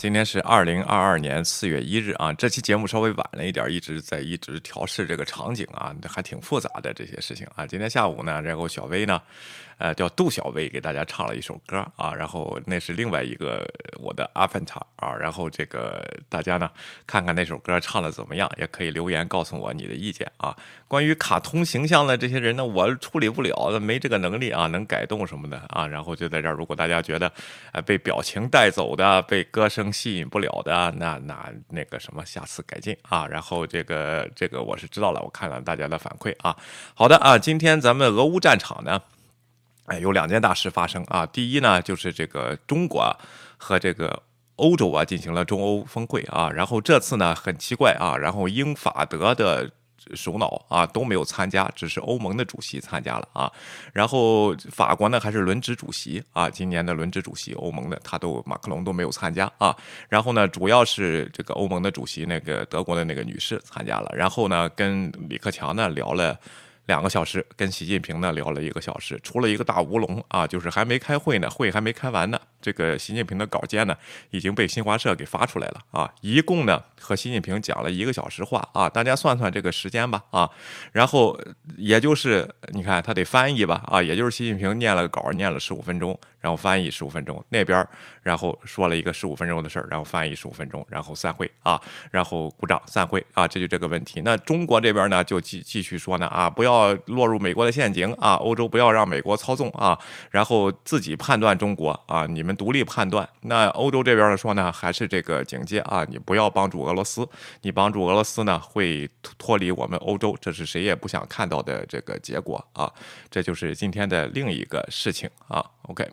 今天是2022年4月1日啊，这期节目稍微晚了一点，一直调试这个场景啊，还挺复杂的这些事情啊。今天下午呢，然后小薇呢，叫杜小薇给大家唱了一首歌啊，然后那是另外一个我的阿凡达啊，然后这个大家呢看看那首歌唱的怎么样，也可以留言告诉我你的意见啊。关于卡通形象的这些人呢，我处理不了，没这个能力啊，能改动什么的啊。然后就在这儿，如果大家觉得被表情带走的，被歌声吸引不了的，那个什么，下次改进啊。然后这个我是知道了，我看了大家的反馈啊。好的啊，今天咱们俄乌战场呢，有2件大事发生啊。第一呢，就是这个中国和这个欧洲啊进行了中欧峰会啊。然后这次呢很奇怪啊，然后英法德的首脑啊都没有参加，只是欧盟的主席参加了啊。然后法国呢还是轮值主席啊，今年的轮值主席欧盟的马克龙都没有参加啊。然后呢主要是这个欧盟的主席那个德国的那个女士参加了，然后呢跟李克强呢聊了2个小时，跟习近平呢聊了1个小时，出了一个大乌龙啊，就是还没开会呢，会还没开完呢，这个习近平的稿件呢已经被新华社给发出来了啊。一共呢和习近平讲了1个小时话啊，大家算算这个时间吧啊。然后也就是你看他得翻译吧啊，也就是习近平念了稿，念了15分钟，然后翻译15分钟，那边然后说了一个15分钟的事儿，然后翻译15分钟，然后散会啊，然后鼓掌散会啊，这就这个问题。那中国这边呢就继续说呢啊，不要落入美国的陷阱啊，欧洲不要让美国操纵啊，然后自己判断中国啊，你们独立判断。那欧洲这边呢说呢，还是这个警戒啊，你不要帮助俄罗斯，你帮助俄罗斯呢会脱离我们欧洲，这是谁也不想看到的这个结果啊。这就是今天的另一个事情啊。OK。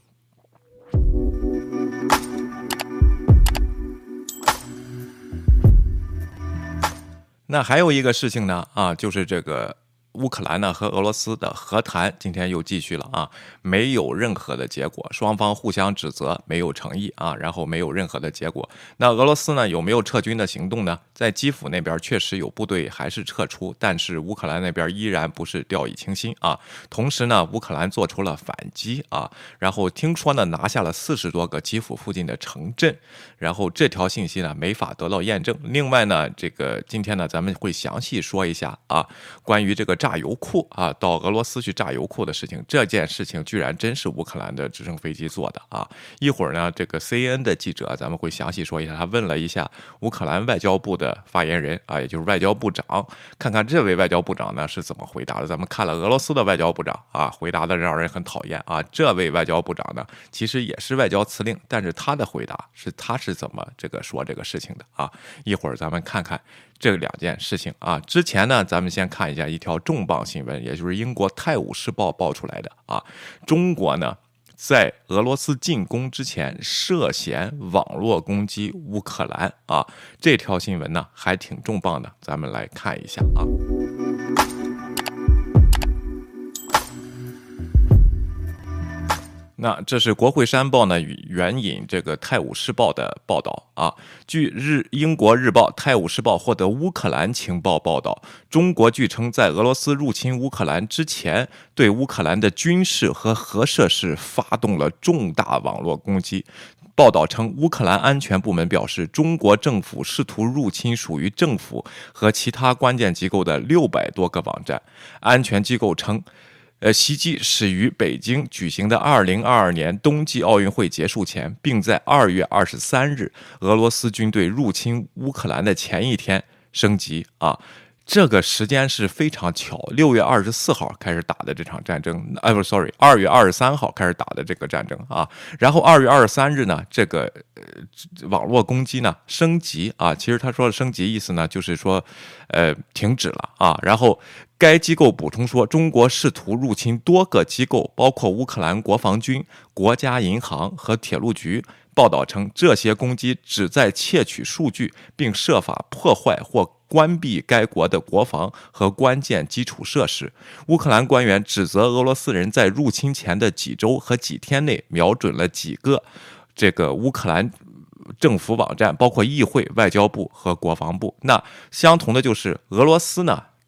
那还有一个事情呢啊，就是这个乌克兰呢和俄罗斯的和谈今天又继续了啊，没有任何的结果，双方互相指责，没有诚意啊，然后没有任何的结果。那俄罗斯呢有没有撤军的行动呢？在基辅那边确实有部队还是撤出，但是乌克兰那边依然不是掉以轻心啊。同时呢，乌克兰做出了反击啊，然后听说呢拿下了40多个基辅附近的城镇，然后这条信息呢没法得到验证。另外呢，这个今天呢咱们会详细说一下啊，关于这个炸油库啊，到俄罗斯去炸油库的事情，这件事情居然真是乌克兰的直升飞机做的啊！一会儿呢，这个 CNN 的记者咱们会详细说一下，他问了一下乌克兰外交部的发言人啊，也就是外交部长，看看这位外交部长呢是怎么回答的。咱们看了俄罗斯的外交部长啊，回答的让人很讨厌啊。这位外交部长呢，其实也是外交辞令，但是他的回答他是怎么说这个事情的啊？一会儿咱们看看这2件事情啊。之前呢，咱们先看一下一条重磅新闻，也就是英国《泰晤士报》爆出来的啊，中国呢在俄罗斯进攻之前涉嫌网络攻击乌克兰啊，这条新闻呢还挺重磅的，咱们来看一下啊。那这是国会山报呢援引这个《泰晤士报》的报道啊。据英国日报《泰晤士报》获得乌克兰情报报道，中国据称在俄罗斯入侵乌克兰之前，对乌克兰的军事和核设施发动了重大网络攻击。报道称，乌克兰安全部门表示，中国政府试图入侵属于政府和其他关键机构的600多个网站。安全机构称，袭击始于北京举行的2022年冬季奥运会结束前，并在2月23日俄罗斯军队入侵乌克兰的前一天升级啊。这个时间是非常巧，6月24号开始打的这场战争，2月23号开始打的这个战争啊。然后2月23日呢，这个网络攻击呢升级啊，其实他说的升级意思呢就是说停止了啊。然后该机构补充说，中国试图入侵多个机构，包括乌克兰国防军、国家银行和铁路局。报道称，这些攻击旨在窃取数据，并设法破坏或关闭该国的国防和关键基础设施。乌克兰官员指责俄罗斯人在入侵前的几周和几天内瞄准了几个这个乌克兰政府网站，包括议会、外交部和国防部。那相同的就是俄罗斯呢，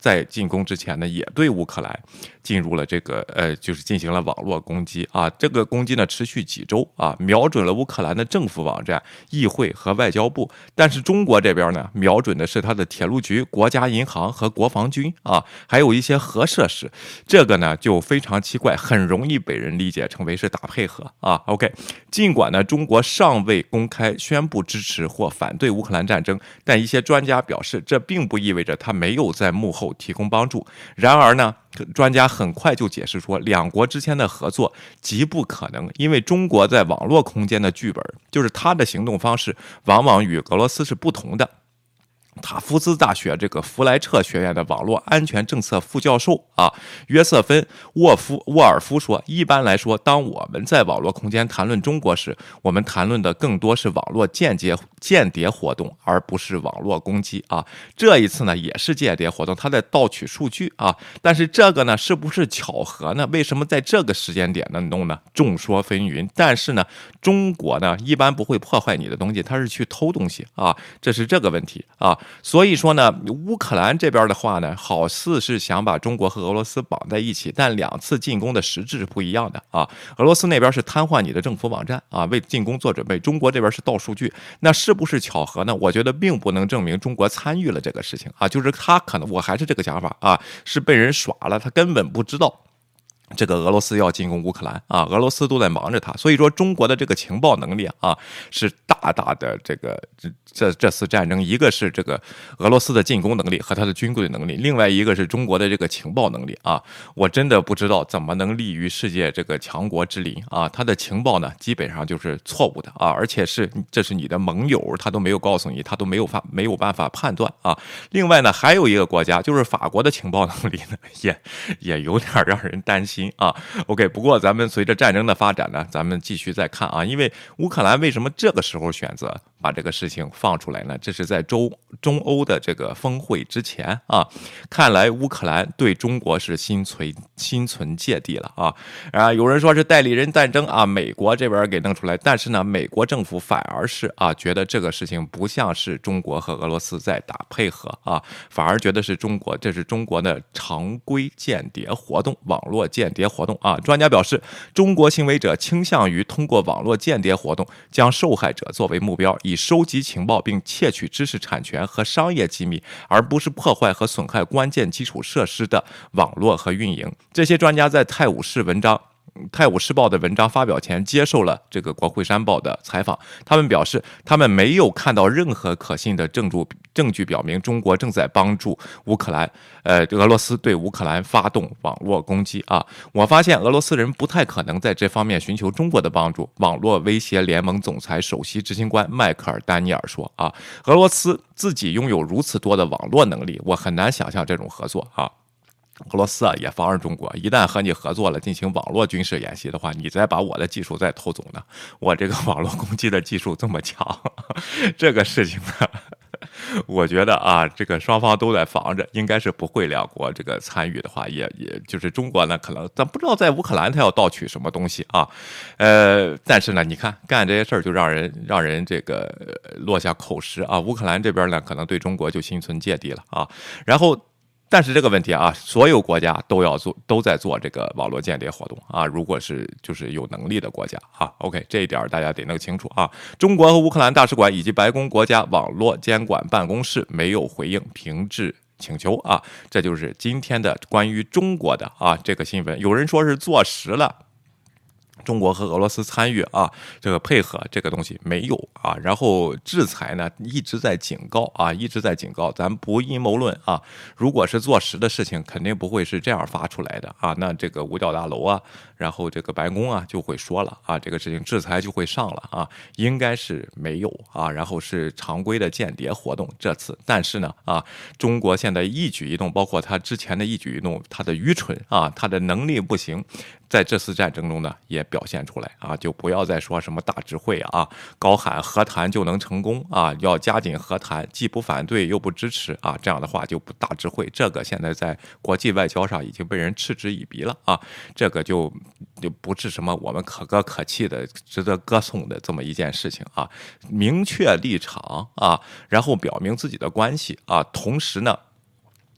在进攻之前呢，也对乌克兰进入了这个就是进行了网络攻击啊。这个攻击呢持续几周啊，瞄准了乌克兰的政府网站、议会和外交部。但是中国这边呢，瞄准的是它的铁路局、国家银行和国防军啊，还有一些核设施。这个呢就非常奇怪，很容易被人理解成为是打配合啊。OK， 尽管呢中国尚未公开宣布支持或反对乌克兰战争，但一些专家表示，这并不意味着他没有在幕后提供帮助。然而呢，专家很快就解释说，两国之间的合作极不可能，因为中国在网络空间的剧本，就是它的行动方式，往往与俄罗斯是不同的。塔夫茨大学这个弗莱彻学院的网络安全政策副教授约瑟芬沃尔夫说，一般来说，当我们在网络空间谈论中国时，我们谈论的更多是网络间谍活动，而不是网络攻击啊。这一次呢，也是间谍活动，他在盗取数据啊。但是这个呢，是不是巧合呢？为什么在这个时间点呢弄呢？众说纷纭。但是呢，中国呢一般不会破坏你的东西，他是去偷东西啊，这是这个问题啊。所以说呢，乌克兰这边的话呢，好似是想把中国和俄罗斯绑在一起，但两次进攻的实质是不一样的啊。俄罗斯那边是瘫痪你的政府网站啊，为进攻做准备；中国这边是盗数据，那是不是巧合呢？我觉得并不能证明中国参与了这个事情啊，就是他可能，我还是这个想法啊，是被人耍了，他根本不知道这个俄罗斯要进攻乌克兰啊，俄罗斯都在忙着他，所以说中国的这个情报能力啊，是大大的这次战争，一个是这个俄罗斯的进攻能力和他的军队能力，另外一个是中国的这个情报能力啊，我真的不知道怎么能立于世界这个强国之林啊，他的情报呢基本上就是错误的啊，而且这是你的盟友，他都没有告诉你，他都没有办法判断啊。另外呢，还有一个国家就是法国的情报能力呢，也有点让人担心。OK， 不过咱们随着战争的发展呢，咱们继续再看啊，因为乌克兰为什么这个时候选择把这个事情放出来呢？这是在中欧的这个峰会之前啊，看来乌克兰对中国是心存芥蒂了啊！有人说是代理人战争啊，美国这边给弄出来，但是呢，美国政府反而是觉得这个事情不像是中国和俄罗斯在打配合啊，反而觉得是这是中国的常规间谍活动，网络间谍活动啊。专家表示，中国行为者倾向于通过网络间谍活动将受害者作为目标，以收集情报并窃取知识产权和商业机密，而不是破坏和损害关键基础设施的网络和运营。这些专家在《泰晤士报》的文章发表前接受了这个国会山报的采访，他们表示他们没有看到任何可信的证据表明中国正在帮助俄罗斯对乌克兰发动网络攻击啊！我发现俄罗斯人不太可能在这方面寻求中国的帮助。网络威胁联盟总裁首席执行官迈克尔·丹尼尔说啊，俄罗斯自己拥有如此多的网络能力，我很难想象这种合作啊。俄罗斯也防着中国，一旦和你合作了，进行网络军事演习的话，你再把我的技术再偷走呢？我这个网络攻击的技术这么强，这个事情呢，我觉得这个双方都在防着，应该是不会两国这个参与的话，也就是中国呢，可能咱不知道在乌克兰他要盗取什么东西啊，但是呢，你看干这些事儿就让人这个落下口实啊，乌克兰这边呢，可能对中国就心存芥蒂了啊，然后。但是这个问题所有国家都在做这个网络间谍活动啊。如果是就是有能力的国家OK， 这一点大家得弄清楚啊。中国和乌克兰大使馆以及白宫国家网络监管办公室没有回应平质请求啊。这就是今天的关于中国的这个新闻。有人说是坐实了。中国和俄罗斯参与这个配合这个东西没有然后制裁呢一直在警告咱不阴谋论如果是坐实的事情，肯定不会是这样发出来的那这个五角大楼然后这个白宫就会说了这个事情制裁就会上了应该是没有然后是常规的间谍活动这次，但是呢中国现在一举一动，包括他之前的一举一动，他的愚蠢他的能力不行，在这次战争中呢也表现出来就不要再说什么大智慧高喊和谈就能成功要加紧和谈，既不反对又不支持这样的话就不大智慧。这个现在在国际外交上已经被人嗤之以鼻了这个就不是什么我们可歌可泣的值得歌颂的这么一件事情明确立场然后表明自己的关系同时呢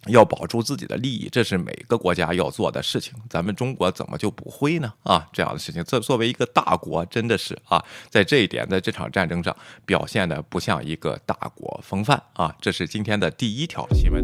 要保住自己的利益，这是每个国家要做的事情。咱们中国怎么就不会呢？啊，这样的事情，作为一个大国，真的是啊，在这一点，在这场战争上表现的不像一个大国风范啊。这是今天的第一条新闻。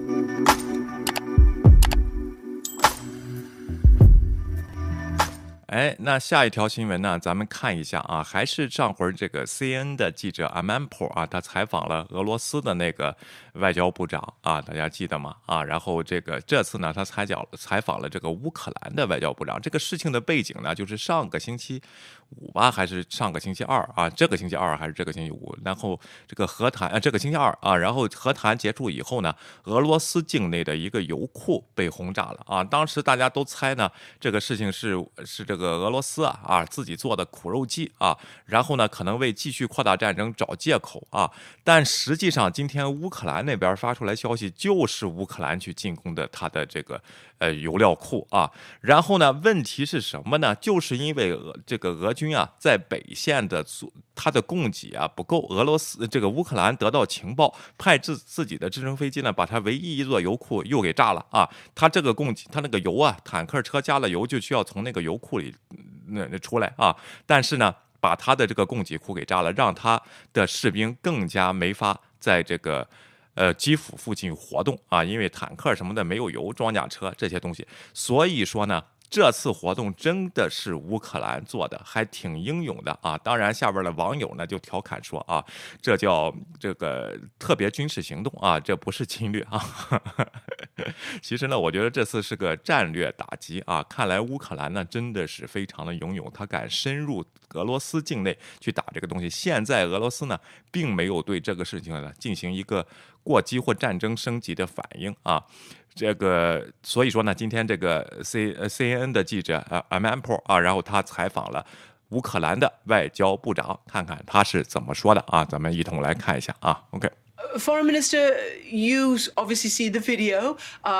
哎，那下一条新闻呢？咱们看一下啊，还是上回这个 CNN 的记者 Amanpour 啊，他采访了俄罗斯的那个外交部长啊，大家记得吗？啊，然后这次呢，他采访了这个乌克兰的外交部长。这个事情的背景呢，就是上个星期五吧，还是上个星期二啊？这个星期二还是这个星期五？然后这个和谈这个星期二啊，然后和谈结束以后呢，俄罗斯境内的一个油库被轰炸了啊。当时大家都猜呢，这个事情是这个俄罗斯自己做的苦肉计啊，然后呢可能为继续扩大战争找借口啊。但实际上，今天乌克兰那边发出来消息，就是乌克兰去进攻的他的这个油料库啊。然后呢，问题是什么呢？就是因为俄军啊在北线的它的供给不够，乌克兰得到情报，派自己的直升飞机呢，把它唯一一座油库又给炸了啊。它这个供给，它那个油坦克车加了油就需要从那个油库里出来啊。但是呢，把他的这个供给库给炸了，让他的士兵更加没法在这个基辅附近活动啊，因为坦克什么的没有油，装甲车这些东西。所以说呢，这次活动真的是乌克兰做的，还挺英勇的啊！当然，下边的网友呢就调侃说啊，这叫这个特别军事行动啊，这不是侵略啊。其实呢，我觉得这次是个战略打击啊。看来乌克兰呢真的是非常的英勇，他敢深入俄罗斯境内去打这个东西。现在俄罗斯呢并没有对这个事情呢进行一个过激或战争升级的反应啊。所以说呢，今天这个 CNN 的记者Amanpour 啊，然后他采访了乌克兰的外交部长，看看他是怎么说的啊。咱们一同来看一下啊。OK。 Foreign Minister, you obviously see the video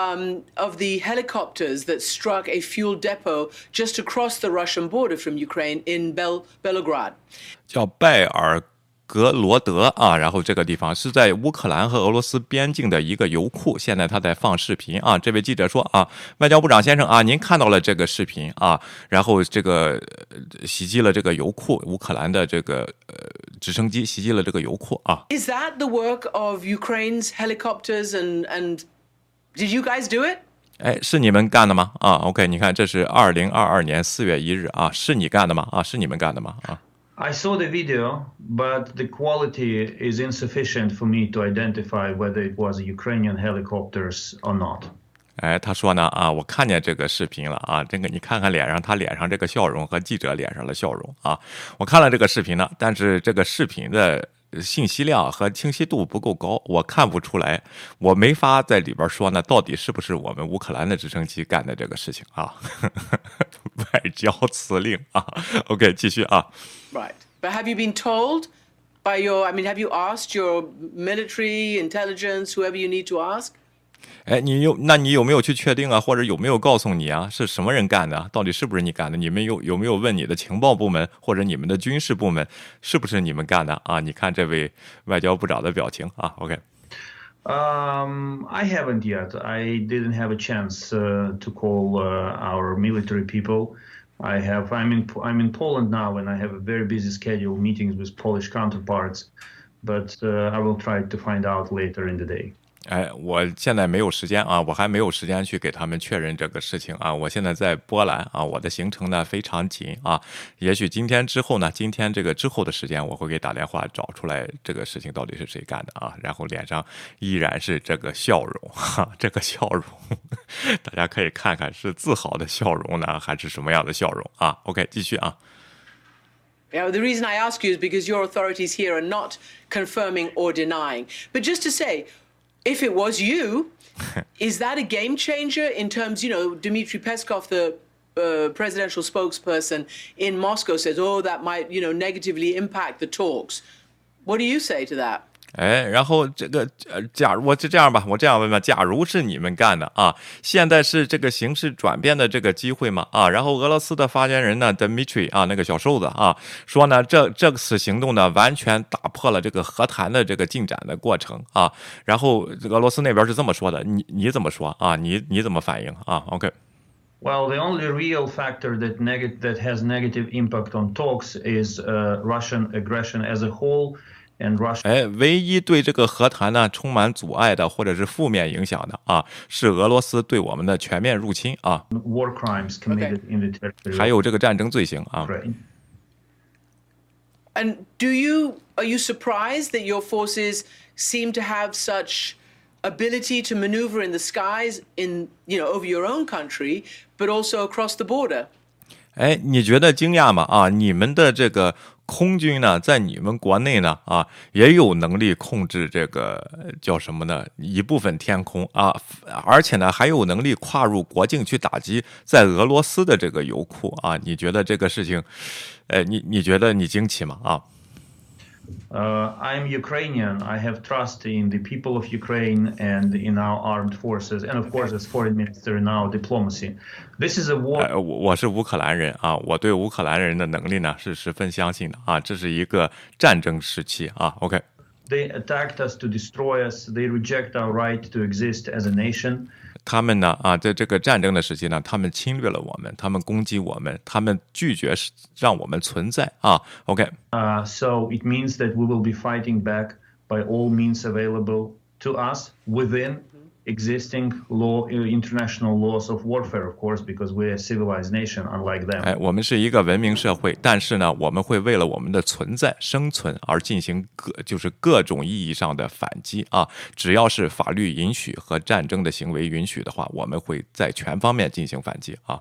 of the helicopters that struck a fuel depot just across the Russian border from Ukraine in Belgorod. 叫拜尔格罗德啊，然后这个地方是在乌克兰和俄罗斯边境的一个油库。现在他在放视频啊。这位记者说啊，外交部长先生啊，您看到了这个视频啊，然后这个袭击了这个油库，乌克兰的这个直升机袭击了这个油库啊。 Is that the work of Ukraine's helicopters and did you guys do it? 哎，是你们干的吗？啊 ，OK， 你看这是2022年4月1日啊，是你干的吗？啊，是你们干的吗？啊。 I saw the video, but the quality is insufficient for me to identify whether it was Ukrainian helicopters or not. 哎，他说呢啊，我看见这个视频了啊，这个你看看他脸上这个笑容和记者脸上的笑容啊，我看了这个视频呢，但是这个视频的信息量和清晰度不够高，我看不出来，我没法在里边说呢，到底是不是我们乌克兰的直升机干的这个事情啊？外交辞令啊 ，OK， 继续啊。 Right, but have you been told by have you asked your military intelligence, whoever you need to ask? 哎，你有没有去确定啊，或者有没有告诉你啊，是什么人干的？到底是不是你干的？你们有没有问你的情报部门或者你们的军事部门，是不是你们干的啊？你看这位外交部长的表情啊 ，OK。 I haven't yet. I didn't have a chance to call our military people. I'm in Poland now, and I have a very busy schedule, meetings with Polish counterparts. But I will try to find out later in the day. 哎，我现在没有时间啊，我还没有时间去给他们确认这个事情啊。我现在在波兰啊，我的行程呢非常紧啊。也许今天这个之后的时间，我会给打电话找出来这个事情到底是谁干的啊。然后脸上依然是这个笑容哈，这个笑容，大家可以看看是自豪的笑容呢，还是什么样的笑容啊 ？OK， 继续啊。 Yeah, the reason I ask you is because your authorities here are not confirming or denying. But just to say, if it was you, is that a game changer in terms, Dmitry Peskov, the presidential spokesperson in Moscow says, that might, negatively impact the talks. What do you say to that? 哎，然后假如我就这样吧，我这样问吧，假如是你们干的啊，现在是这个形势转变的这个机会吗？啊，然后俄罗斯的发言人呢 Dmitry 啊，那个小瘦子啊，说呢，这次行动呢，完全打破了这个和谈的这个进展的过程啊。然后俄罗斯那边是这么说的，你怎么说啊？你怎么反应啊 ？OK。Well, the only real factor that has negative impact on talks is Russian aggression as a whole. 哎，唯一对这个和谈呢充满阻碍的，或者是负面影响的啊，是俄罗斯对我们的全面入侵啊 ，war crimes committed in the territory， 还有这个战争罪行啊。 And are you surprised that your forces seem to have such ability to maneuver in the skies over your own country, but also across the border? 哎，你觉得惊讶吗？啊，你们的这个空军呢，在你们国内呢，啊，也有能力控制这个叫什么呢？一部分天空啊，而且呢，还有能力跨入国境去打击在俄罗斯的这个油库啊。你觉得这个事情，你觉得你惊奇吗？啊 ？I'm Ukrainian. I have trust in the people of Ukraine and in our armed forces, and of course, as foreign minister in our diplomacy. This is a war. 我是乌克兰人啊，我对乌克兰人的能力呢是十分相信的啊。这是一个战争时期啊。 OK。They attacked us to destroy us. They reject our right to exist as a nation. 他们呢啊，在这个战争的时期呢，他们侵略了我们，他们攻击我们，他们拒绝让我们存在啊。 So it means that we will be fighting back by all means available to us within existing international laws of warfare, of course, because we're a civilized nation, unlike them. 哎，我们是一个文明社会，但是呢，我们会为了我们的存在、生存而进行各种意义上的反击啊！只要是法律允许和战争的行为允许的话，我们会在全方面进行反击啊。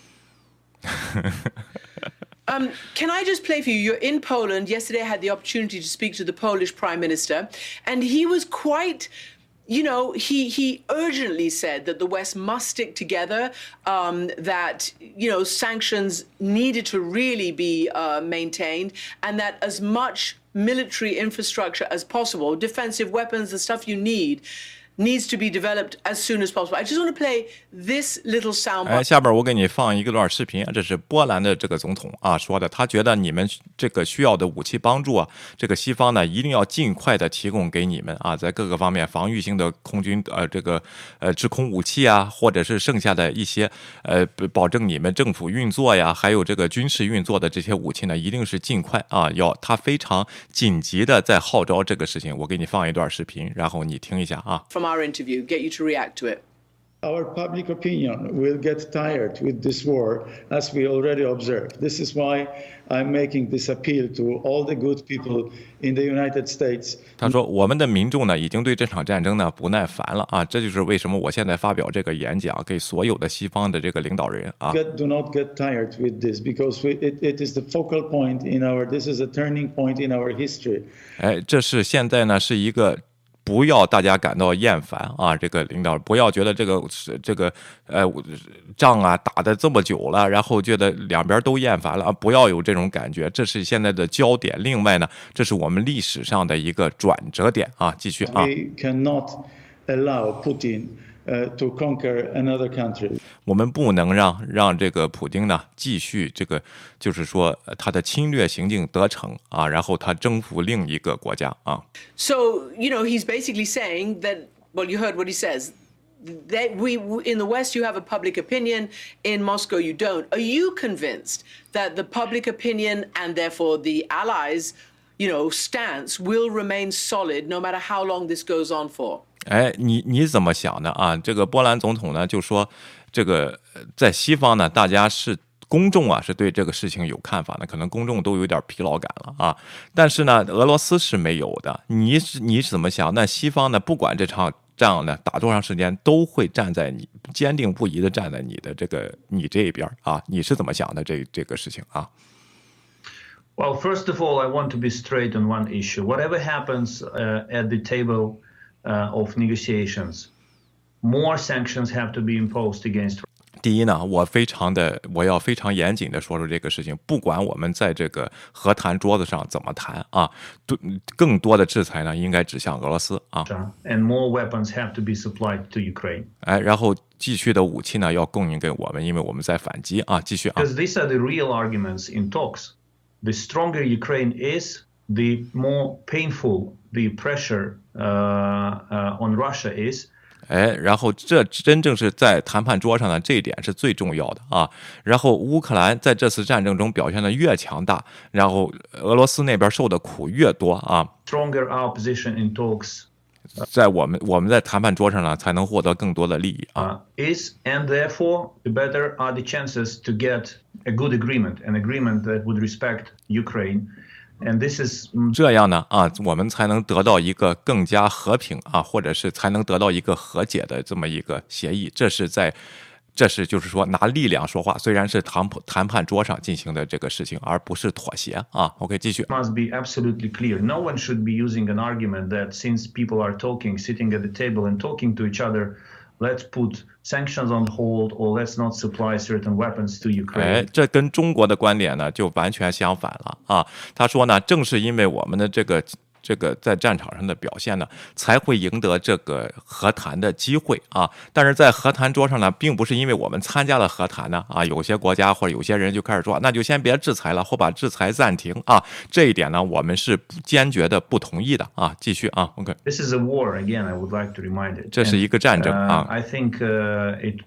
Can I just play for you? You're in Poland. Yesterday, I had the opportunity to speak to the Polish Prime Minister, and he was quite. He urgently said that the West must stick together, that, sanctions needed to really be maintained, and that as much military infrastructure as possible, defensive weapons, the stuff you need, needs to be developed as soon as possible. I just want to play this little sound. 哎，下边我给你放一个段视频，这是波兰的这个总统啊说的，他觉得你们这个需要的武器帮助啊，这个西方呢一定要尽快的提供给你们啊，在各个方面防御性的空军制空武器啊，或者是剩下的一些保证你们政府运作呀，还有这个军事运作的这些武器呢，一定是尽快啊，他非常紧急的在号召这个事情。我给你放一段视频，然后你听一下啊。 Our interview, get you to react to it. Our public opinion will get tired with this war, as we already observed. This is why I'm making this appeal to all the good people in the United States. 他说：“我们的民众呢，已经对这场战争呢不耐烦了啊！这就是为什么我现在发表这个演讲，给所有的西方的这个领导人啊。 Do not get tired with this, because it is the focal point in this is a turning point in our history. 哎，这是现在呢是一个。”不要大家感到厌烦啊！这个领导不要觉得这个仗啊打得这么久了，然后觉得两边都厌烦了啊！不要有这种感觉，这是现在的焦点。另外呢，这是我们历史上的一个转折点啊！继续啊。 We cannot allow Putin.to conquer another country. 我们不能让这个普京呢继续就是说他的侵略行径得逞啊，然后他征服另一个国家啊。 So he's basically saying that. Well, you heard what he says. That we in the West you have a public opinion, in Moscow you don't. Are you convinced that the public opinion and therefore the Allies, stance will remain solid no matter how long this goes on for? 哎，你怎么想的啊？这个波兰总统呢就说，这个在西方呢，大家公众啊是对这个事情有看法的，可能公众都有点疲劳感了啊。但是呢，俄罗斯是没有的。你是怎么想？那西方呢，不管这场仗呢打多长时间，都会坚定不移的站在你这一边啊。你是怎么想的这个事情啊 ？Well, first of all, I want to be straight on one issue. Whatever happens at the table.Of negotiations, more sanctions have to be imposed against. 第一呢，我要非常严谨的说这个事情，不管我们在这个和谈桌子上怎么谈啊，更多的制裁呢应该指向俄罗斯啊。 And more weapons have to be supplied to Ukraine. 然后继续的武器呢要供应给我们，因为我们在反击啊。继续啊。 Because these are the real arguments in talks. The stronger Ukraine is, the more painful the pressure on Russia is. 然后这真正是在谈判桌上呢，这一点是最重要的啊。然后乌克兰在这次战争中表现的越强大，然后俄罗斯那边受的苦越多啊。 Stronger our position in talks. 在我们在谈判桌上呢，才能获得更多的利益啊。 Is and therefore the better are the chances to get a good agreement, an agreement that would respect Ukraine. And this is 这样呢啊，我们才能得到一个更加和平啊，或者是才能得到一个和解的这么一个协议。这是就是说拿力量说话，虽然是谈判桌上进行的这个事情，而不是妥协啊。OK， 继续。 Must be absolutely clear. No one should be using an argument that since people are talking, sitting at the table and talking to each other, let's put sanctions on hold or let's not supply certain weapons to Ukraine. 这跟中国的观点呢就完全相反了啊。他说呢，正是因为我们的这个在战场上的表现呢，才会赢得这个和谈的机会啊。但是在和谈桌上呢，并不是因为我们参加了和谈呢啊，有些国家或者有些人就开始说，那就先别制裁了，或把制裁暂停啊。这一点呢，我们是坚决的不同意的啊。继续啊 ，OK。 This is a war again. I would like to remind it. 这是一个战争啊。 I think it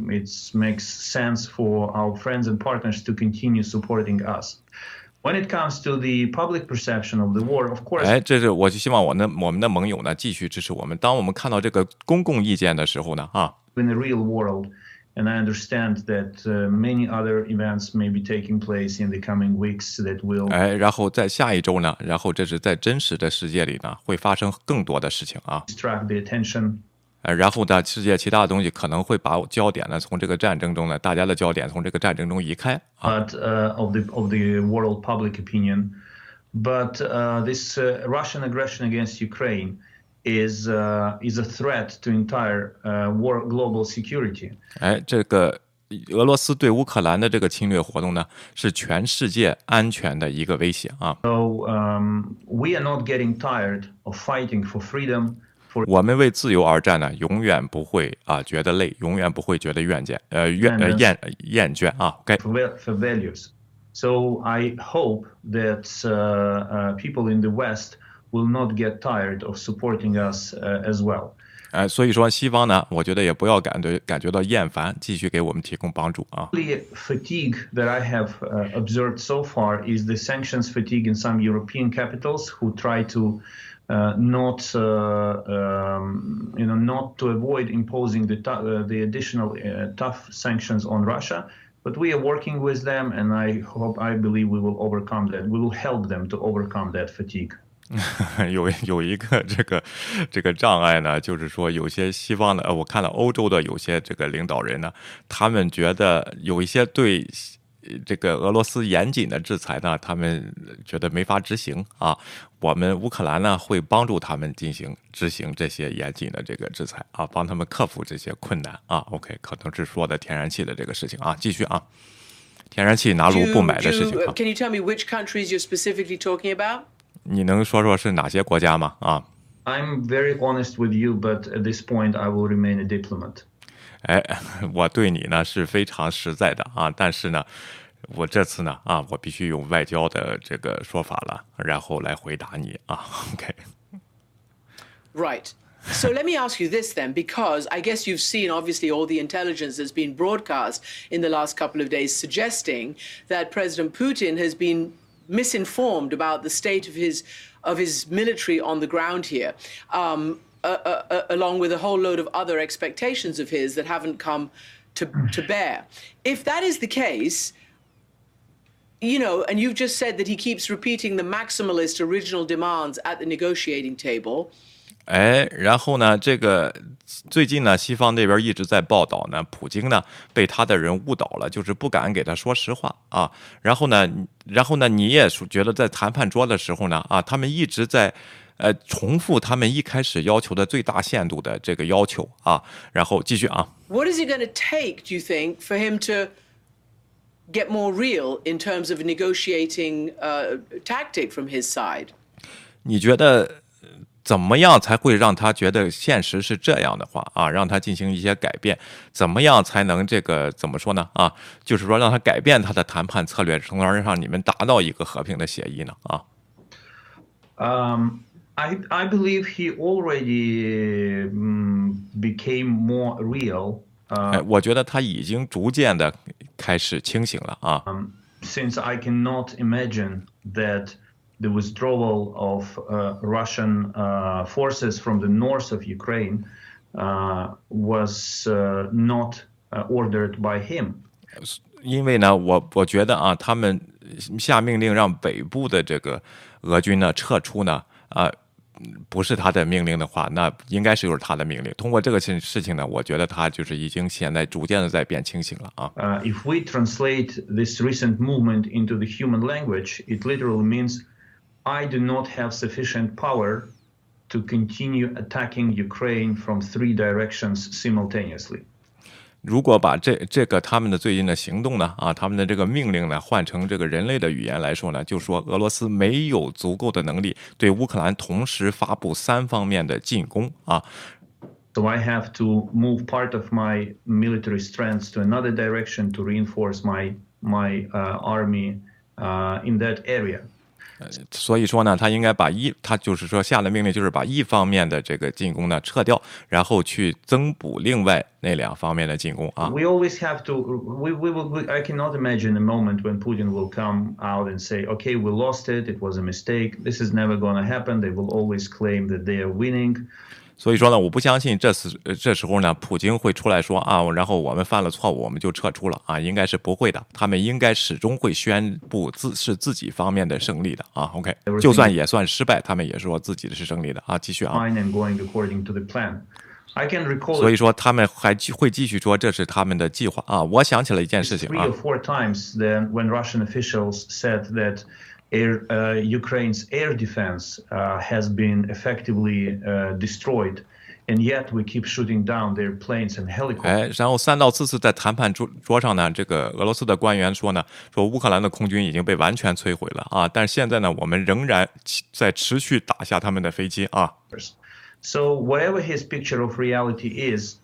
makes sense for our friends and partners to continue supporting us. When it comes to the public perception of the war, of course. 这是我就希望我们的盟友呢继续支持我们。当我们看到这个公共意见的时候呢，啊。 In the real world, and I understand that many other events may be taking place in the coming weeks that will. 然后在下一周呢，然后这是在真实的世界里呢，会发生更多的事情啊。 Distract the attention. 然后呢，世界其他的东西可能会把焦点呢从这个战争中呢，大家的焦点从这个战争中移开。 But of the world public opinion, but this Russian aggression against Ukraine is a threat to entire world global security. 这个俄罗斯对乌克兰的这个侵略活动呢，是全世界安全的一个威胁啊。 So we are not getting tired of fighting for freedom. 我们为自由而战呢，永远不会觉得累，永远不会觉得厌倦啊。OK。 For values, so I hope that people in the West will not get tired of supporting us as well. 所以说西方呢，我觉得也不要感觉到厌烦，继续给我们提供帮助啊。 The fatigue that I have observed so far is the sanctions fatigue in some European capitals who try to. Not to avoid imposing the additional tough sanctions on Russia, but we are working with them, and I believe we will overcome that. We will help them to overcome that fatigue. 有一个这个障碍呢，就是说有些西方的，我看了欧洲的有些这个领导人呢，他们觉得有一些对。这个俄罗斯严谨的制裁呢，他们觉得没法执行啊。我们乌克兰呢会帮助他们执行这些严谨的这个制裁啊，帮他们克服这些困难啊。OK， 可能是说的天然气的这个事情啊，继续啊，天然气拿入不买的事情。 Can you tell me which countries you're specifically talking about? 你能说说是哪些国家吗？啊 I'm very honest with you, but at this point I will remain a diplomat. 我对你呢是非常实在的啊，但是呢，我这次呢我必须用外交的这个说法了，然后来回答你啊。OK。 Right. So let me ask you this then, because I guess you've seen obviously all the intelligence that's been broadcast in the last couple of days suggesting that President Putin has been misinformed about the state of his military on the ground here. Along with a whole load of other expectations of his that haven't come to bear. If that is the case, and you've just said that he keeps repeating the maximalist original demands at the negotiating table. 然后呢，这个最近呢，西方那边一直在报道呢，普京呢被他的人误导了，就是不敢给他说实话啊。然后呢，你也觉得在谈判桌的时候呢，他们一直在重复他们一开始要求的最大限度的这个要求啊。然后继续啊。 What is it going to take, do you think, for him to get more real in terms of a negotiating tactic from his side? 你觉得怎么样才会让他觉得现实是这样的话啊，让他进行一些改变？怎么样才能这个怎么说呢？啊，就是说让他改变他的谈判策略，从而让你们达到一个和平的协议呢？啊。 I believe he already became more real. 我觉得他已经逐渐的开始清醒了啊。 Since I cannot imagine that the withdrawal of Russian forces from the north of Ukraine was not ordered by him. 因为呢，我觉得啊，他们下命令让北部的这个俄军呢撤出呢，不是他的命令的话，那应该是就是他的命令。通过这个事情呢，我觉得他就是已经现在逐渐的在变清醒了啊。 If we translate this recent movement into the human language, it literally means I do not have sufficient power to continue attacking Ukraine from 3 directions simultaneously. 如果把这个他们的最近的行动呢，他们的这个命令呢，换成这个人类的语言来说呢，就说俄罗斯没有足够的能力对乌克兰同时发布3方面的进攻啊。 So I have to move part of my military strength to another direction to reinforce my army in that area. 所以说呢，他应该他就是说下的命令就是把一方面的这个进攻呢撤掉，然后去增补另外那2方面的进攻啊。 We always have to. I cannot imagine a moment when Putin will come out and say, "Okay, we lost it. It was a mistake. This is never going to happen." They will always claim that they are winning. 所以说呢，我不相信这时候呢，普京会出来说啊，然后我们犯了错误，我们就撤出了啊，应该是不会的。他们应该始终会宣布是自己方面的胜利的啊。OK， 就算也算失败，他们也说自己的是胜利的啊。继续啊。所以说他们还会继续说这是他们的计划啊。我想起了一件事情啊。 3 or 4 times then when Russian officials said that Ukraine's air defense has been effectively destroyed, and yet we keep shooting down their planes and helicopters. 然后3到4次在谈判桌上呢，这个俄罗斯的官员说呢，说乌克兰的空军已经被完全摧毁了啊，但是现在呢，我们仍然在持续打下他们的飞机啊。 So whatever his picture of reality is,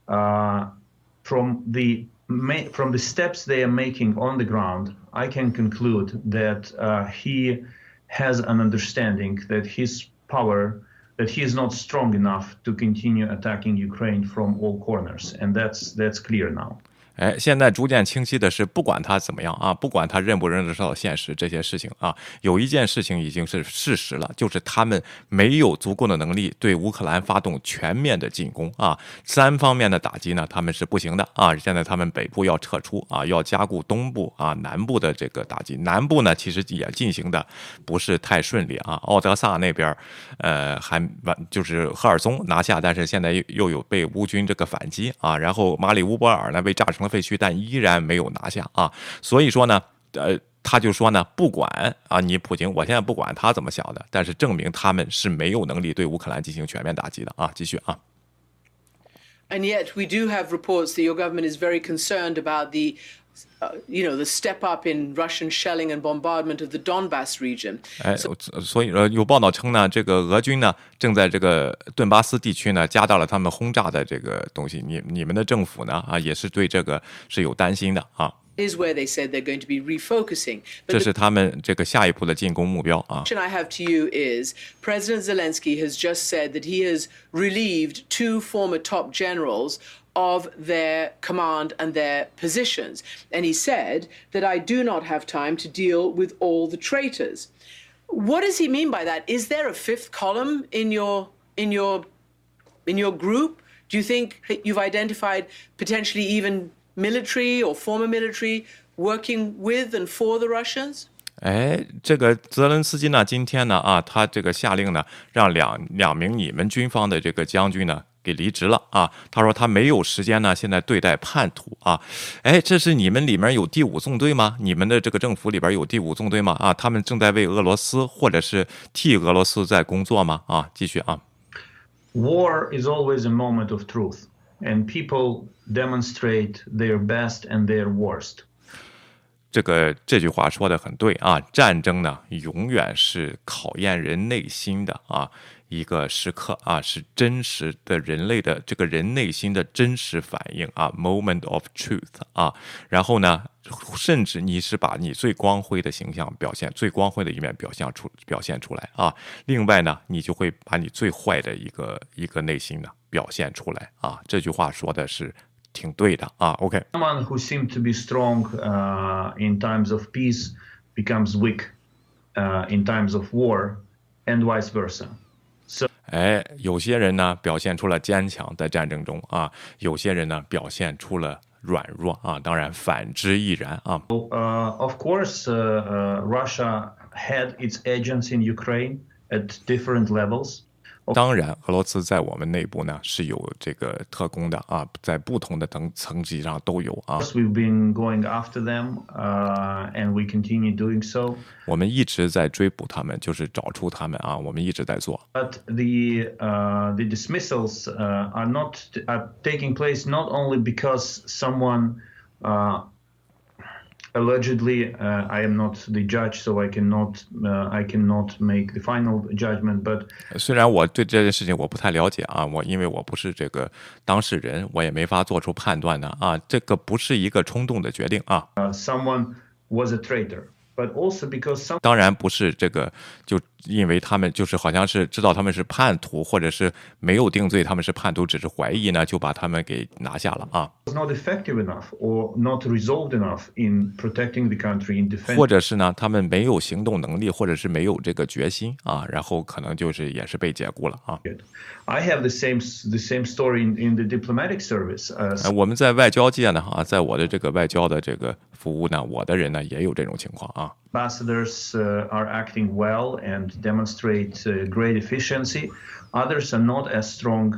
from the steps they are making on the ground, I can conclude that he has an understanding that his power, that he is not strong enough to continue attacking Ukraine from all corners, and that's clear now. 现在逐渐清晰的是，不管他怎么样啊，不管他认不认得到现实这些事情啊，有一件事情已经是事实了，就是他们没有足够的能力对乌克兰发动全面的进攻啊，3方面的打击呢，他们是不行的啊。现在他们北部要撤出啊，要加固东部啊、南部的这个打击。南部呢，其实也进行的不是太顺利啊。奥德萨那边就是赫尔松拿下，但是现在又有被乌军这个反击啊，然后马里乌波尔呢被炸成了废墟，但依然没有拿下啊。所以说呢，他就说呢，不管啊，你普京，我现在不管他怎么想的，但是证明他们是没有能力对乌克兰进行全面打击的啊。继续啊。 And yet we do have reports that your government is very concerned about the the step up in Russian shelling and bombardment of the Donbas region. 所以有报道称呢，这个俄军呢正在这个顿巴斯地区呢加大了他们轰炸的这个东西。你们的政府呢也是对这个是有担心的啊。 Is where they said they're going to be refocusing. 这是他们这个下一步的进攻目标啊。 The question I have to you is President Zelensky has just said that he has relieved 2 former top generals of their command and their positions. And he said that I do not have time to deal with all the traitors. What does he mean by that? Is there a 5th column in your group? Do you think you've identified potentially even military or former military working with and for the Russians? 这个泽连斯基呢，今天呢他这个下令呢，让两名你们军方的这个将军呢， 给离职了啊。他说他没有时间呢，现在对待叛徒啊。哎，这是你们里面有第5纵队吗？你们的这个政府里边有第5纵队吗？啊，他们正在为俄罗斯或者是替俄罗斯在工作吗？啊，继续啊。 War is always a moment of truth, and people demonstrate their best and their worst. 这句话说的很对啊，战争呢永远是考验人内心的啊一个时刻啊，是真实的人类的这个人内心的真实反应啊 ，moment of truth 啊。然后呢，甚至你是把你最光辉的形象最光辉的一面表现出来啊。另外呢，你就会把你最坏的一个内心呢表现出来啊。这句话说的是挺对的啊 ，OK。 Someone who seemed to be strong in times of peace becomes weak in times of war, and vice versa. 哎，有些人呢表现出了坚强，在战争中啊；有些人呢表现出了软弱啊。当然，反之亦然啊。 Of course, Russia had its agents in Ukraine at different levels. 当然，俄罗斯在我们内部呢是有这个特工的啊，在不同的层级上都有啊。 We've been going after them, and we continue doing so. 我们一直在追捕他们，就是找出他们啊，我们一直在做。 But the dismissals are taking place not only because someone allegedly, I am not the judge, so I cannot make the final judgment. But 虽然我对这件事情我不太了解啊，因为我不是这个当事人，我也没法做出判断的啊。这个不是一个冲动的决定啊。 someone was a traitor, but also because 当然不是这个，就因为他们就是好像是知道他们是叛徒，或者是没有定罪他们是叛徒，只是怀疑呢，就把他们给拿下了啊。 was not effective enough or not resolved enough in protecting the country in defense. 或者是呢，他们没有行动能力，或者是没有这个决心啊，然后可能就是也是被解雇了啊。 I have the same story in the diplomatic service. 我们在外交界呢啊，在我的这个外交的这个服务呢，我的人呢也有这种情况啊。 Ambassadors are acting well and demonstrate great efficiency. Others are not as strong,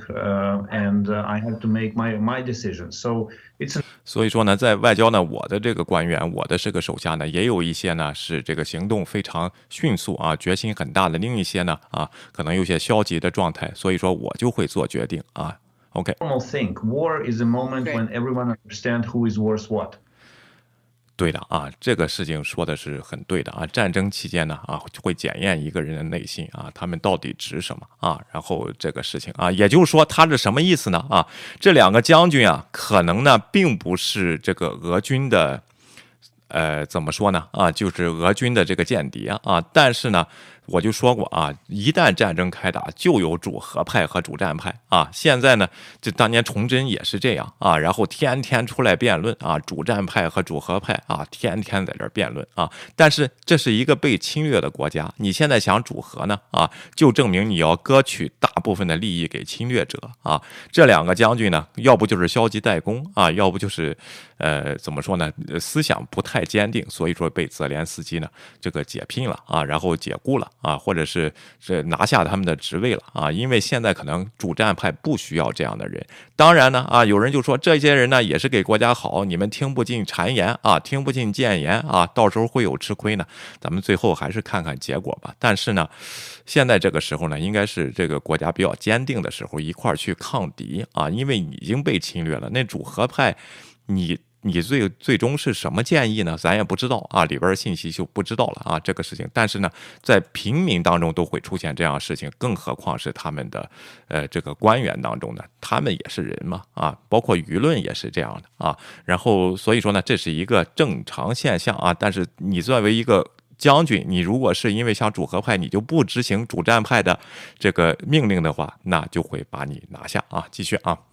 and I have to make my decisions. So it's 所以说呢，在外交呢，我的这个官员，我的这个手下呢，也有一些呢是这个行动非常迅速啊，决心很大的；另一些呢啊，可能有些消极的状态。所以说我就会做决定啊。OK。 normal thing. War is a moment when everyone understands who is worth what. 对的啊，这个事情说的是很对的啊。战争期间呢啊，会检验一个人的内心啊，他们到底值什么啊？然后这个事情啊，也就是说他是什么意思呢？啊，这2个将军啊，可能呢并不是这个俄军的，怎么说呢？啊，就是俄军的这个间谍啊，但是呢。我就说过啊，一旦战争开打，就有主和派和主战派啊。现在呢，这当年崇祯也是这样啊，然后天天出来辩论啊，主战派和主和派啊，天天在这儿辩论啊。但是这是一个被侵略的国家，你现在想主和呢啊，就证明你要割取大部分的利益给侵略者啊。这2个将军呢，要不就是消极怠工啊，要不就是怎么说呢，思想不太坚定，所以说被泽连斯基呢这个解聘了啊，然后解雇了。啊，或者是拿下他们的职位了啊，因为现在可能主战派不需要这样的人。当然呢啊，有人就说这些人呢也是给国家好，你们听不进谗言啊，听不进谏言啊，到时候会有吃亏呢。咱们最后还是看看结果吧。但是呢，现在这个时候呢，应该是这个国家比较坚定的时候，一块儿去抗敌啊，因为已经被侵略了。那主和派，你最终是什么建议呢？咱也不知道啊，里边信息就不知道了啊，这个事情。但是呢，在平民当中都会出现这样的事情，更何况是他们的这个官员当中呢，他们也是人嘛啊，包括舆论也是这样的啊。然后所以说呢，这是一个正常现象啊。但是你作为一个将军，你如果是因为像主和派，你就不执行主战派的这个命令的话，那就会把你拿下啊。继续啊。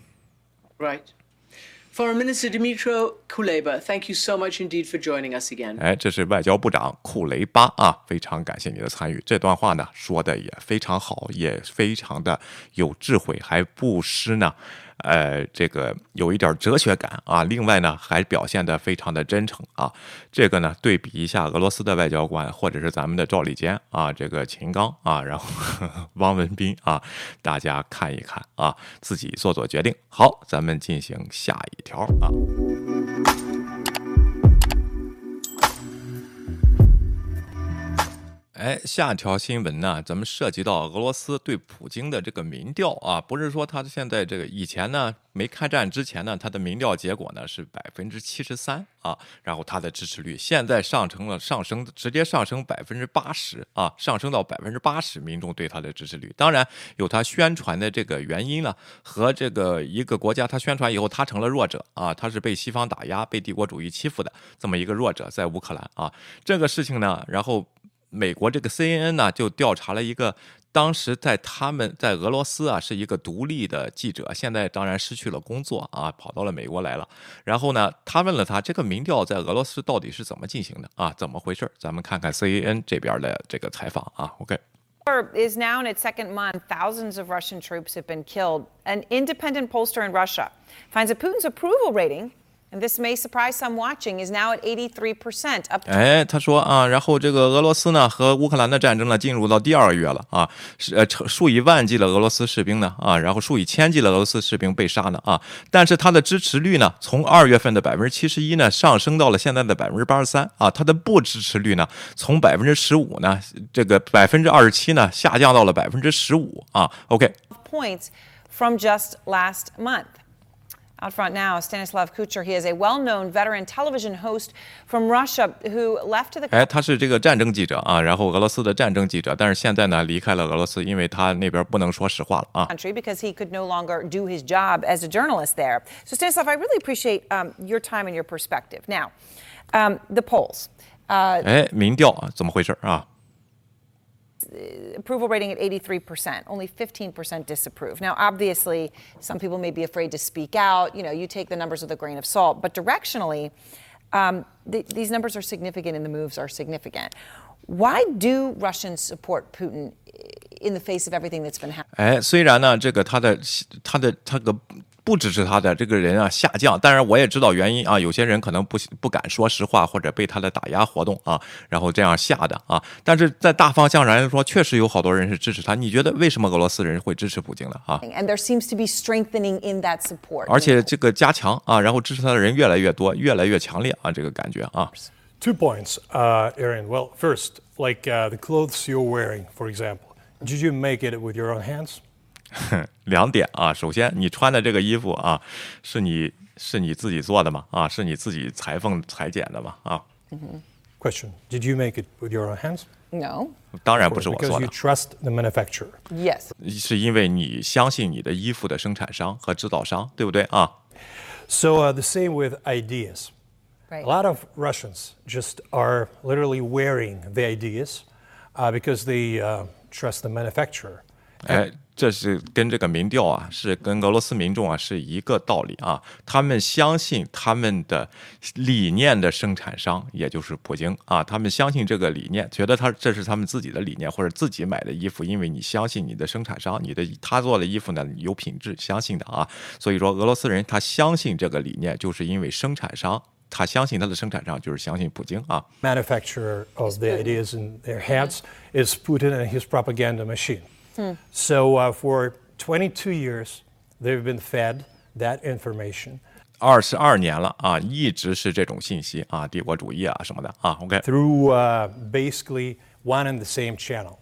Right.Foreign Minister Dmytro Kuleba, thank you so much indeed for joining us again. 哎，这是外交部长库雷巴啊，非常感谢你的参与。这段话呢说的也非常好，也非常的有智慧，还不失呢这个有一点哲学感啊，另外呢还表现得非常的真诚啊。这个呢对比一下俄罗斯的外交官，或者是咱们的赵立坚啊，这个秦刚啊，然后汪文斌啊，大家看一看啊，自己做做决定。好，咱们进行下一条啊。下条新闻呢，咱们涉及到俄罗斯对普京的这个民调啊，不是说他现在这个以前呢没开战之前呢，他的民调结果呢是73%啊，然后他的支持率现在直接上升80%啊，上升到80%，民众对他的支持率，当然有他宣传的这个原因呢，和这个一个国家他宣传以后他成了弱者啊，他是被西方打压、被帝国主义欺负的这么一个弱者，在乌克兰啊，这个事情呢，然后。美国这个 CNN 呢就调查了一个当时他们在俄罗斯啊是一个独立的记者，现在当然失去了工作啊，跑到了美国来了。然后呢，他问了他这个民调在俄罗斯到底是怎么进行的啊？怎么回事？咱们看看 CNN 这边的这个采访啊。OK。 Is now in its second month. Thousands of Russian troops have been killed. An independent pollster in Russia finds that Putin's approval rating.And this may surprise some watching, is now at 83%, up to 他说啊，然后这个俄罗斯呢和乌克兰的战争呢进入到第2个月了啊，数以万计的俄罗斯士兵呢啊，然后数以千计的俄罗斯士兵被杀呢啊，但是他的支持率呢从2月份的71%呢上升到了现在的83%啊，他的不支持率呢从15%呢这个27%呢下降到了15%啊。OK。 points from just last month.Out front now, Stanislav Kucher. He is a well-known veteran television host from Russia who left to the. 他是这个战争记者啊，然后俄罗斯的战争记者，但是现在呢离开了俄罗斯，因为他那边不能说实话了啊。 Country because he could no longer do his job as a journalist there. So Stanislav, I really appreciate your time and your perspective. Now, the polls. 民调怎么回事啊 ？Approval rating at 83%, only 15% disapprove. Now, obviously, some people may be afraid to speak out. You know, you take the numbers with a grain of salt. But directionally, these numbers are significant and the moves are significant. Why do Russians support Putin in the face of everything that's been happening? 虽然呢，这个他个不支持他的这个人啊下降，当然我也知道原因啊，有些人可能不敢说实话，或者被他的打压活动啊，然后这样下的啊。但是在大方向上来说，确实有好多人是支持他。你觉得为什么俄罗斯人会支持普京呢？啊 And there seems to be strengthening in that support. 而且这个加强啊，然后支持他的人越来越多，越来越强烈啊，这个感觉啊。 2 points, Aaron. Well, first, like the clothes you're wearing, for example, did you make it with your own hands? 2点啊，首先你穿的这个衣服啊，是你自己做的吗？啊，是你自己裁缝裁剪的吗？啊。 Question: Did you make it with your own hands? No. 当然不是我做 Because 的 you。trust the manufacturer. Yes. 是因为你相信你的衣服的生产商和制造商，对不对啊？ So the same with ideas. Right. A lot of Russians just are literally wearing the ideas because they trust the manufacturer. 这是跟这个民调啊，是跟俄罗斯民众啊是一个道理啊。他们相信他们的理念的生产商，也就是普京啊，他们相信这个理念，觉得这是他们自己的理念，或者自己买的衣服，因为你相信你的生产商，他做的衣服呢有品质，相信的啊。所以说俄罗斯人他相信这个理念，就是因为生产商。他相信他的生产商就是相信普京啊。 Manufacturer of the ideas in their heads is Putin and his propaganda machine. So for 22 years, they've been fed that information. 22年了啊，一直是这种信息啊，帝国主义啊什么的啊。OK。 Through basically one and the same channel.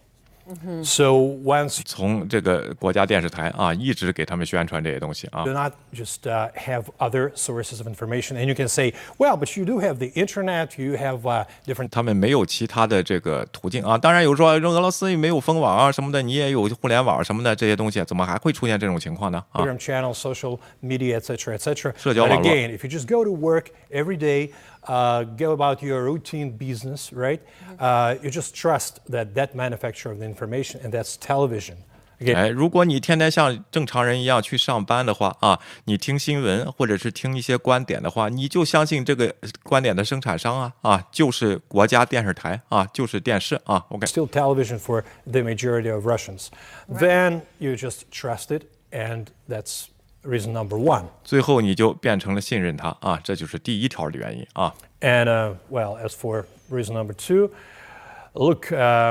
So once 从这个国家电视台啊，一直给他们宣传这些东西啊。 do not just have other sources of information, and you can say, well, but you do have the internet, you have different. 他们没有其他的这个途径啊。当然有说俄罗斯也没有封网啊什么的，你也有互联网什么的这些东西，怎么还会出现这种情况呢？啊 Telegram channels, social media, etc., etc. 社交 But 网络 again, if you just go to work every day, go about your routine business, right? You just trust that manufacturer of the information, and that's television. Again, 如果你天天像正常人一样去上班的话啊，你听新闻或者是听一些观点的话，你就相信这个观点的生产商啊，就是国家电视台啊，就是电视啊。OK。 still television for the majority of Russians. Then you just trust it, and that's reason number one. 最后你就变成了信任他啊，这就是第一条的原因啊。 And well, as for reason number two, look,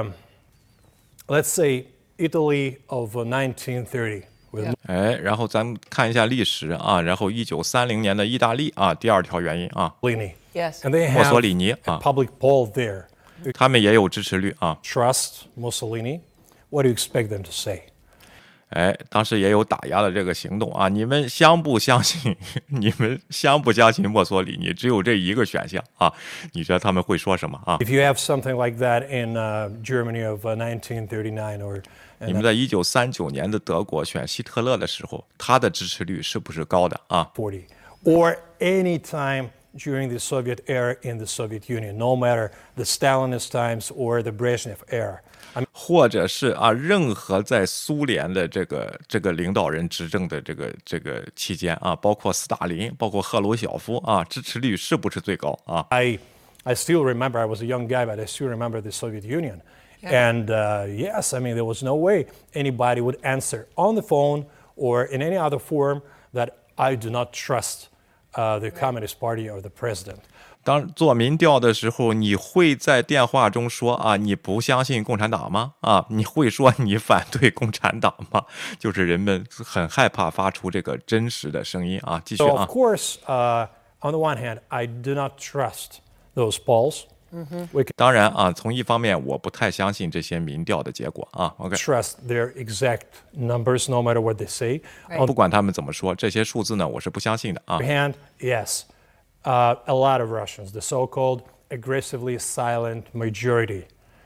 let's say Italy of 1930. 然后咱们看一下历史啊，然后1930年的意大利啊，第二条原因啊， Yes. And they 墨 have 索里尼 a 啊， public poll there. 他们也有支持率啊。 Trust Mussolini. What do you expect them to say? 当时也有打压的这个行动啊！你们相不相信？你们相不相信墨索里尼？只有这一个选项啊！你觉得他们会说什么啊？ If you have something like that in Germany of 1939 or 你们在1939年的德国选希特勒的时候，他的支持率是不是高的啊？ 40, or any time during the Soviet era in the Soviet Union, no matter the Stalinist times or the Brezhnev era. 或者是啊，任何在苏联的这个领导人执政的这个期间啊，包括斯大林，包括赫鲁晓夫啊，支持率是不是最高啊？ I still remember, I was a young guy, but I still remember the Soviet Union. And yes, I mean, there was no way anybody would answer on the phone or in any other form that I do not trust the Communist Party or the president. 当做民调的时候，你会在电话中说啊，你不相信共产党吗？啊，你会说你反对共产党吗？就是人们很害怕发出这个真实的声音啊。继续 So, 啊 of，course, on the one hand, I do not trust those polls. We can 当然啊，从一方面我不太相信这些民调的结果啊。OK， trust their exact numbers, no matter what they say. On 不管他们怎么说，这些数字呢，我是不相信的啊 the。other hand, yes, a lot of Russians, the so-called aggressively silent majority,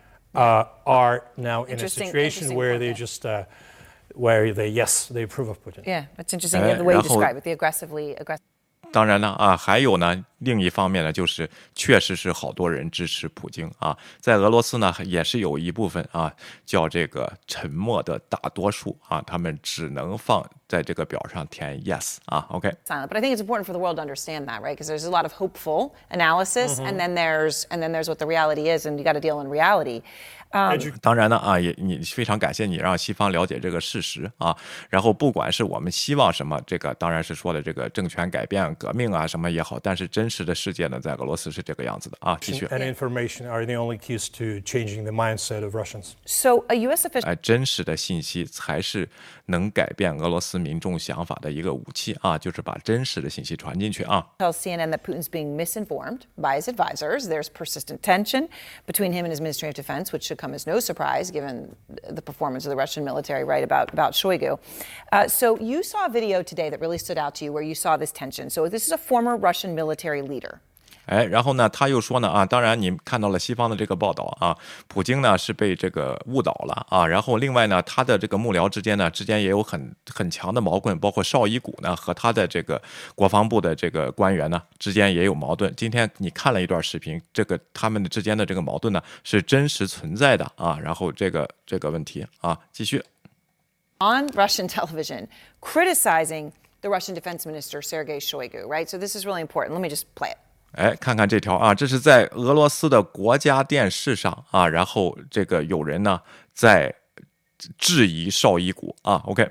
are now in a situation where they just, where they approve of Putin. Yeah, that's interesting. The way you 然后- describe it, the aggressive. 当然呢啊，还有呢，另一方面呢，就是确实是好多人支持普京啊，在俄罗斯呢也是有一部分啊叫这个沉默的大多数啊，他们只能放在这个表上填 yes 啊 ，OK。 Silent. But I think it's important for the world to understand that, right? Because there's a lot of hopeful analysis, and then there's what the reality is, and you got to deal in reality. 当然呢啊，你非常感谢你让西方了解这个事实啊，然后不管是我们希望什么，这个当然是说的这个政权改变、革命啊什么也好，但是真实的世界呢，在俄罗斯是这个样子的啊。继续， And information are the only keys to changing the mindset of Russians. So a U.S. official 真实的信息才是能改变俄罗斯民众想法的一个武器啊，就是把真实的信息传进去啊。 tells CNN that Putin's being misinformed by his advisors. There's persistent tension between him and his Ministry of Defense, which should come as no surprise given the performance of the Russian military, right, about Shoigu. So you saw a video today that really stood out to you where you saw this tension. So this is a former Russian military leader. 然后呢，他又说呢啊，当然你看到了西方的这个报道啊，普京呢是被这个误导了啊，然后另外呢，他的这个幕僚之间也有很强的矛盾，包括绍伊古呢和他的这个国防部的这个官员呢之间也有矛盾。今天你看了一段视频，这个他们之间的这个矛盾呢是真实存在的啊，然后这个问题啊，继续。 On Russian television, criticizing the Russian Defense Minister, Sergei Shoigu, right? So this is really important. Let me just play it. 看看这条啊，这是在俄罗斯的国家电视上啊，然后这个有人呢在质疑绍伊古啊 ，OK。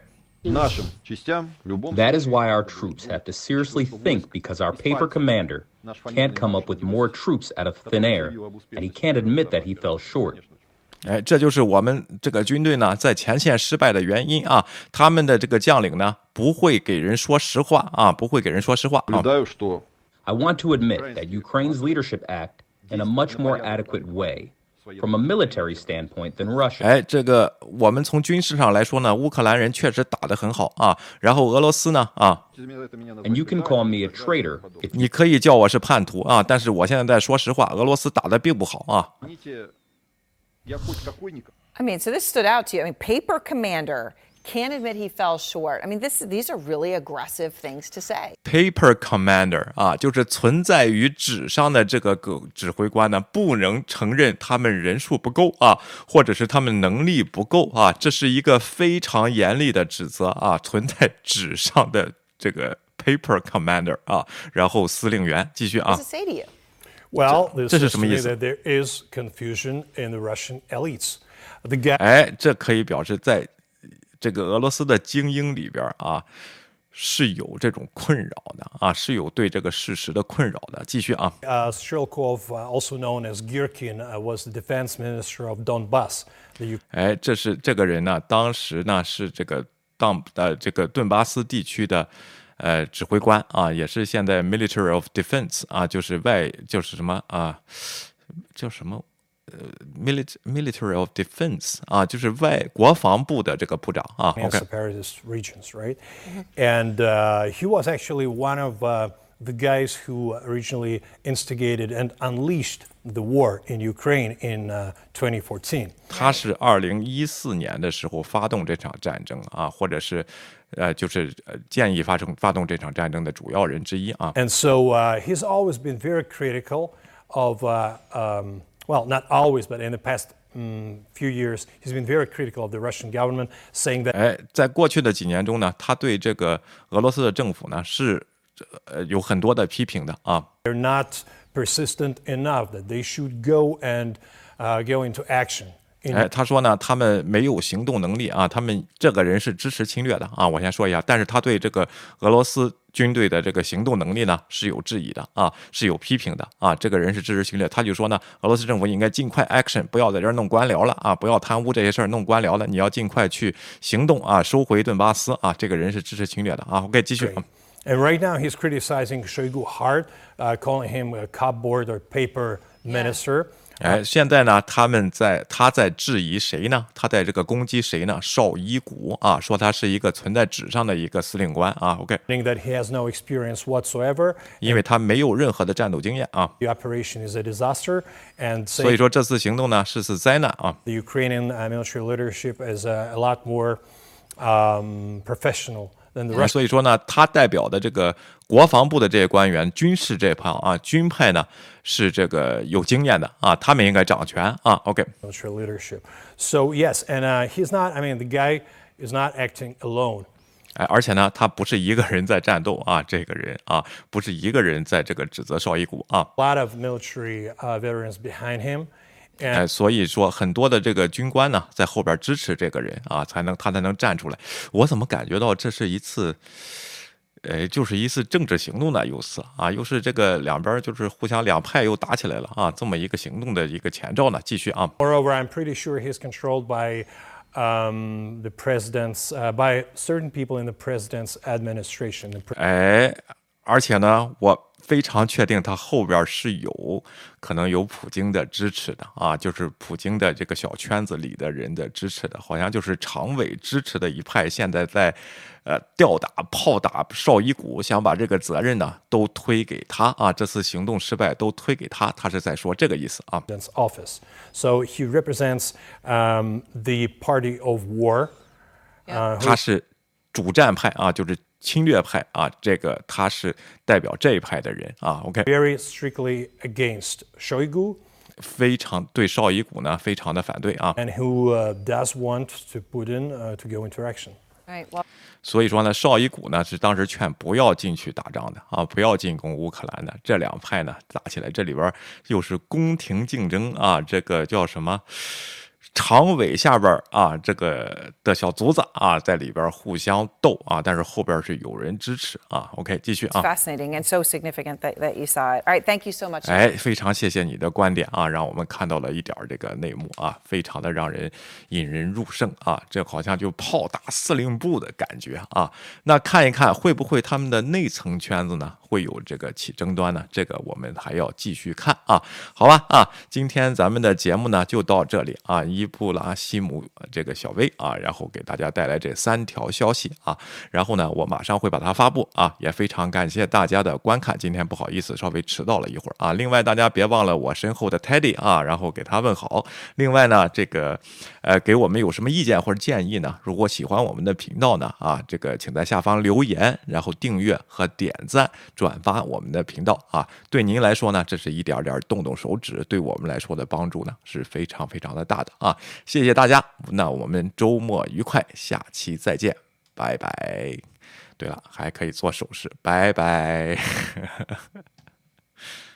That is why our troops have to seriously think because our paper commander can't come up with more troops out of thin air, and he can't admit that he fell short. 这就是我们这个军队呢在前线失败的原因啊，他们的这个将领呢不会给人说实话啊，不会给人说实话啊。 I want to admit that Ukraine's leadership act in a much more adequate way from a military standpoint than Russia. 这个我们从军事上来说呢，乌克兰人确实打得很好啊，然后俄罗斯呢啊， And you can call me a traitor if 你可以叫我是叛徒啊，但是我现在在说实话，俄罗斯打得并不好啊。 I mean, so this stood out to you. I mean, paper commander can't admit he fell short. I mean, these are really aggressive things to say. Paper commander 啊，就是存在于纸上的这个指挥官呢，不能承认他们人数不够啊，或者是他们能力不够啊，这是一个非常严厉的指责啊，存在纸上的这个 paper commander 啊，然后司令员继续啊 What does it say to you? Well, this 这是 says 什 to 么 me 意思？ that there is confusion in the Russian elites. The guy 这可以表示在这个俄罗斯的精英里边啊， 是有这种困扰的啊，是有对这个事实的困扰的。继续啊。 Shelkov, also known as Girkin, was the defense minister of Donbass. 哎，这个人呢，当时呢是这个这个顿巴斯地区的指挥官啊，也是现在 Military of Defense 啊，就是什么啊，叫什么Military of Defense 啊，就是国防部的这个部长啊。 OK. Separatist regions, right? And he was actually one of the guys who originally instigated and unleashed the war in Ukraine in 2014. 他是2014年的时候发动这场战争啊，或者是就是建议发动这场战争的主要人之一啊。 And so he's always been very critical of well, not always, but in the past few years, he's been very critical of the Russian government, saying that 在过去的几年中呢，他对这个俄罗斯的政府呢是有很多的批评的啊。 They're not persistent enough that they should go and go into action. 他说呢，他们没有行动能力啊，他们这个人是支持侵略的啊。我先说一下，但是他对这个俄罗斯军队的这个行动能力呢是有质疑的啊，是有批评的啊。这个人是支持侵略，他就说呢，俄罗斯政府应该尽快 action， 不要在这儿弄官僚了啊，不要贪污这些事儿弄官僚了，你要尽快去行动啊，收回顿巴斯啊。这个人是支持侵略的啊。OK， 继续。 And right now he's criticizing Shoigu hard, calling him a cupboard or paper minister. 现在呢，他在质疑谁呢？他在这个攻击谁呢？绍伊古啊，说他是一个存在纸上的一个司令官啊。OK， that he has no experience whatsoever， 因为他没有任何的战斗经验啊。 The operation is a disaster, and 所以说这次行动呢是次灾难啊。 The Ukrainian military leadership is a lot more professional. 所以说呢，他代表的这个国防部的这些官员，军事这派啊，军派呢是这个有经验的啊，他们应该掌权啊。OK。 Military leadership. So yes, and he's not. I mean, the guy is not acting alone. 而且呢，他不是一个人在战斗啊，这个人啊，不是一个人在这个指责绍伊古啊。 A lot of military veterans behind him. 所以说很多的这个军官呢，在后边支持这个人啊，他才能站出来。我怎么感觉到这是一次，就是一次政治行动呢？又是这个两边就是互相两派又打起来了啊，这么一个行动的一个前兆呢。继续啊。 Moreover, I'm pretty sure he's controlled by the president's, by certain people in the president's administration. 而且呢，我非常确定他后边是可能有普京的支持的啊，就是普京的这个小圈子里的人的支持的，好像就是常委支持的一派，现在在吊打炮打绍伊古，想把这个责任呢都推给他啊，这次行动失败都推给他，他是在说这个意思啊。 Office, so he represents the party of war. 他是主战派啊，就是侵略派啊，这个他是代表这一派的人啊。OK， very strictly against Shoigu， 非常对绍伊古呢非常的反对啊。 And who does want to Putin to go into action？ Right. Well. 所以说呢，绍伊古呢是当时劝不要进去打仗的啊，不要进攻乌克兰的。这两派呢打起来，这里边又是宫廷竞争啊，这个叫什么？常委下边啊，这个的小卒子啊，在里边互相斗啊，但是后边是有人支持啊。OK， 继续啊。 Fascinating and so significant that you saw it. All right, thank you so much. 非常谢谢你的观点啊，让我们看到了一点这个内幕啊，非常的让人引人入胜啊，这好像就炮打司令部的感觉啊。那看一看会不会他们的内层圈子呢会有这个起争端呢？这个我们还要继续看啊。好吧啊，今天咱们的节目呢就到这里啊。伊布拉希姆这个小薇啊，然后给大家带来这3条消息啊，然后呢，我马上会把它发布啊，也非常感谢大家的观看。今天不好意思，稍微迟到了一会儿啊。另外，大家别忘了我身后的 Teddy 啊，然后给他问好。另外呢，这个给我们有什么意见或者建议呢？如果喜欢我们的频道呢啊，这个请在下方留言，然后订阅和点赞、转发我们的频道啊。对您来说呢，这是一点点动动手指，对我们来说的帮助呢是非常非常的大的啊。谢谢大家，那我们周末愉快，下期再见，拜拜。对了，还可以做手势，拜拜。